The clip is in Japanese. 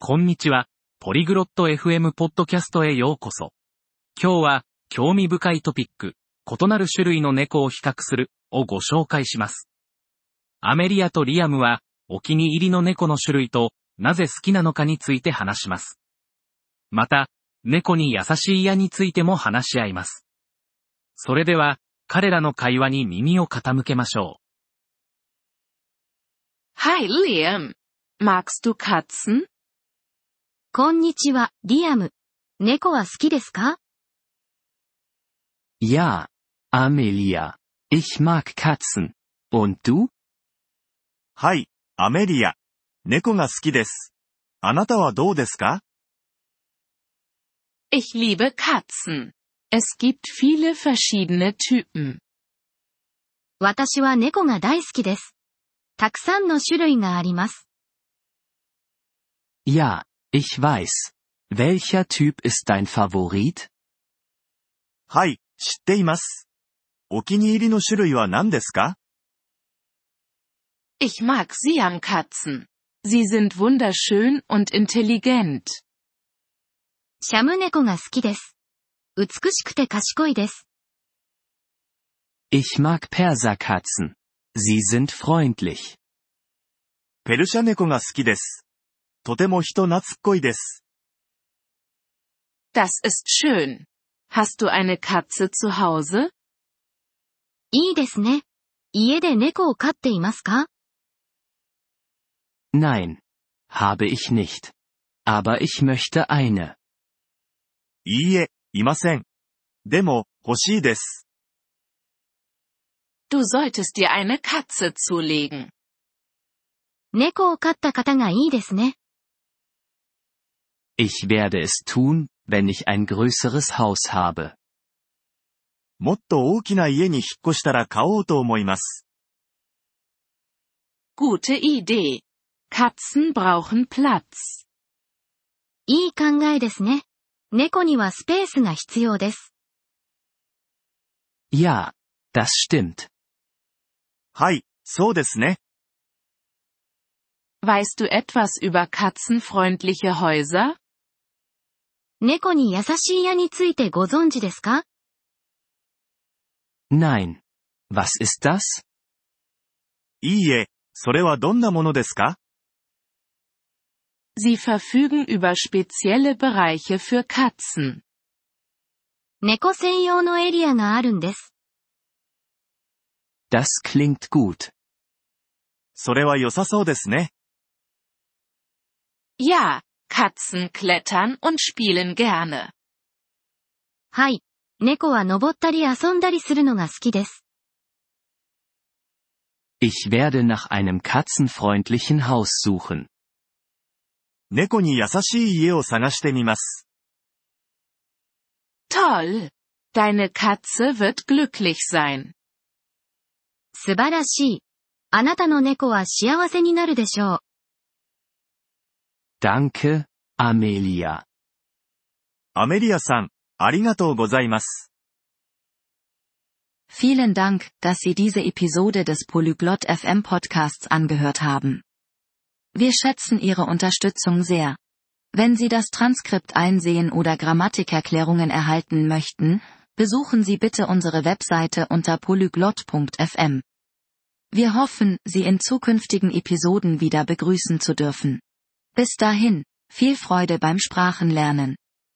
こんにちは。ポリグロット FM ポッドキャストへようこそ。今日は、興味深いトピック、異なる種類の猫を比較する、をご紹介します。アメリアとリアムは、お気に入りの猫の種類と、なぜ好きなのかについて話します。また、猫に優しい矢についても話し合います。それでは、彼らの会話に耳を傾けましょう。 Hi Liam. Magst du Katzen? こんにちは、リアム。猫は好きですか？ Ja, Amelia. Ich mag Katzen. Und du? はい、アメリア。猫が好きです。あなたはどうですか？ Ich liebe Katzen. Es gibt viele verschiedene Typen. 私は猫が大好きです。たくさんの種類があります。 Ja, ich weiß. Welcher Typ ist dein Favorit? はい、知っています。お気に入りの種類は何ですか？ Ich mag Siamkatzen. Sie sind wunderschön und intelligent. シャム猫が好きです。美しくて賢いです。 Ich mag Perserkatzen. Sie sind freundlich. ペルシャ猫が好きです。とても人懐っこいです。 Das ist schön. Hast du eine Katze zu Hause? いいですね。家で猫を飼っていますか？ Nein. Habe ich nicht. Aber ich möchte eine. いいえ、いません。でも、欲しいです。 Du solltest dir eine Katze zulegen. 猫を飼った方がいいですね。 Ich werde es tun, wenn ich ein größeres Haus habe. もっと大きな家に引っ越したら買おうと思います。 Gute Idee. Katzen brauchen Platz. いい考えですね。猫にはスペースが必要です。 Ja, das stimmt. はい、そうですね。 Weißt du etwas über katzenfreundliche Häuser? 猫に優しい矢についてご存知ですか？ Nein. Was ist das? いいえ、それはどんなものですか？ Sie verfügen über spezielle Bereiche für Katzen. 猫専用のエリアがあるんです。 Das klingt gut. それは良さそうですね。 Ja, Katzen klettern und spielen gerne. はい。猫は登ったり遊んだりするのが好きです。 Ich werde nach einem katzenfreundlichen Haus suchen. 猫に優しい家を探してみます。 Toll! Deine Katze wird glücklich sein. 素晴らしい。あなたの猫は幸せになるでしょう。 Danke, Amelia. アメリアさん、ありがとうございます。 Vielen Dank, dass Sie diese Episode des Polyglot FM Podcasts angehört haben. Wir schätzen Ihre Unterstützung sehr. Wenn Sie das Transkript einsehen oder Grammatikerklärungen erhalten möchten, besuchen Sie bitte unsere Webseite unter polyglot.fm. Wir hoffen, Sie in zukünftigen Episoden wieder begrüßen zu dürfen. Bis dahin, viel Freude beim Sprachenlernen.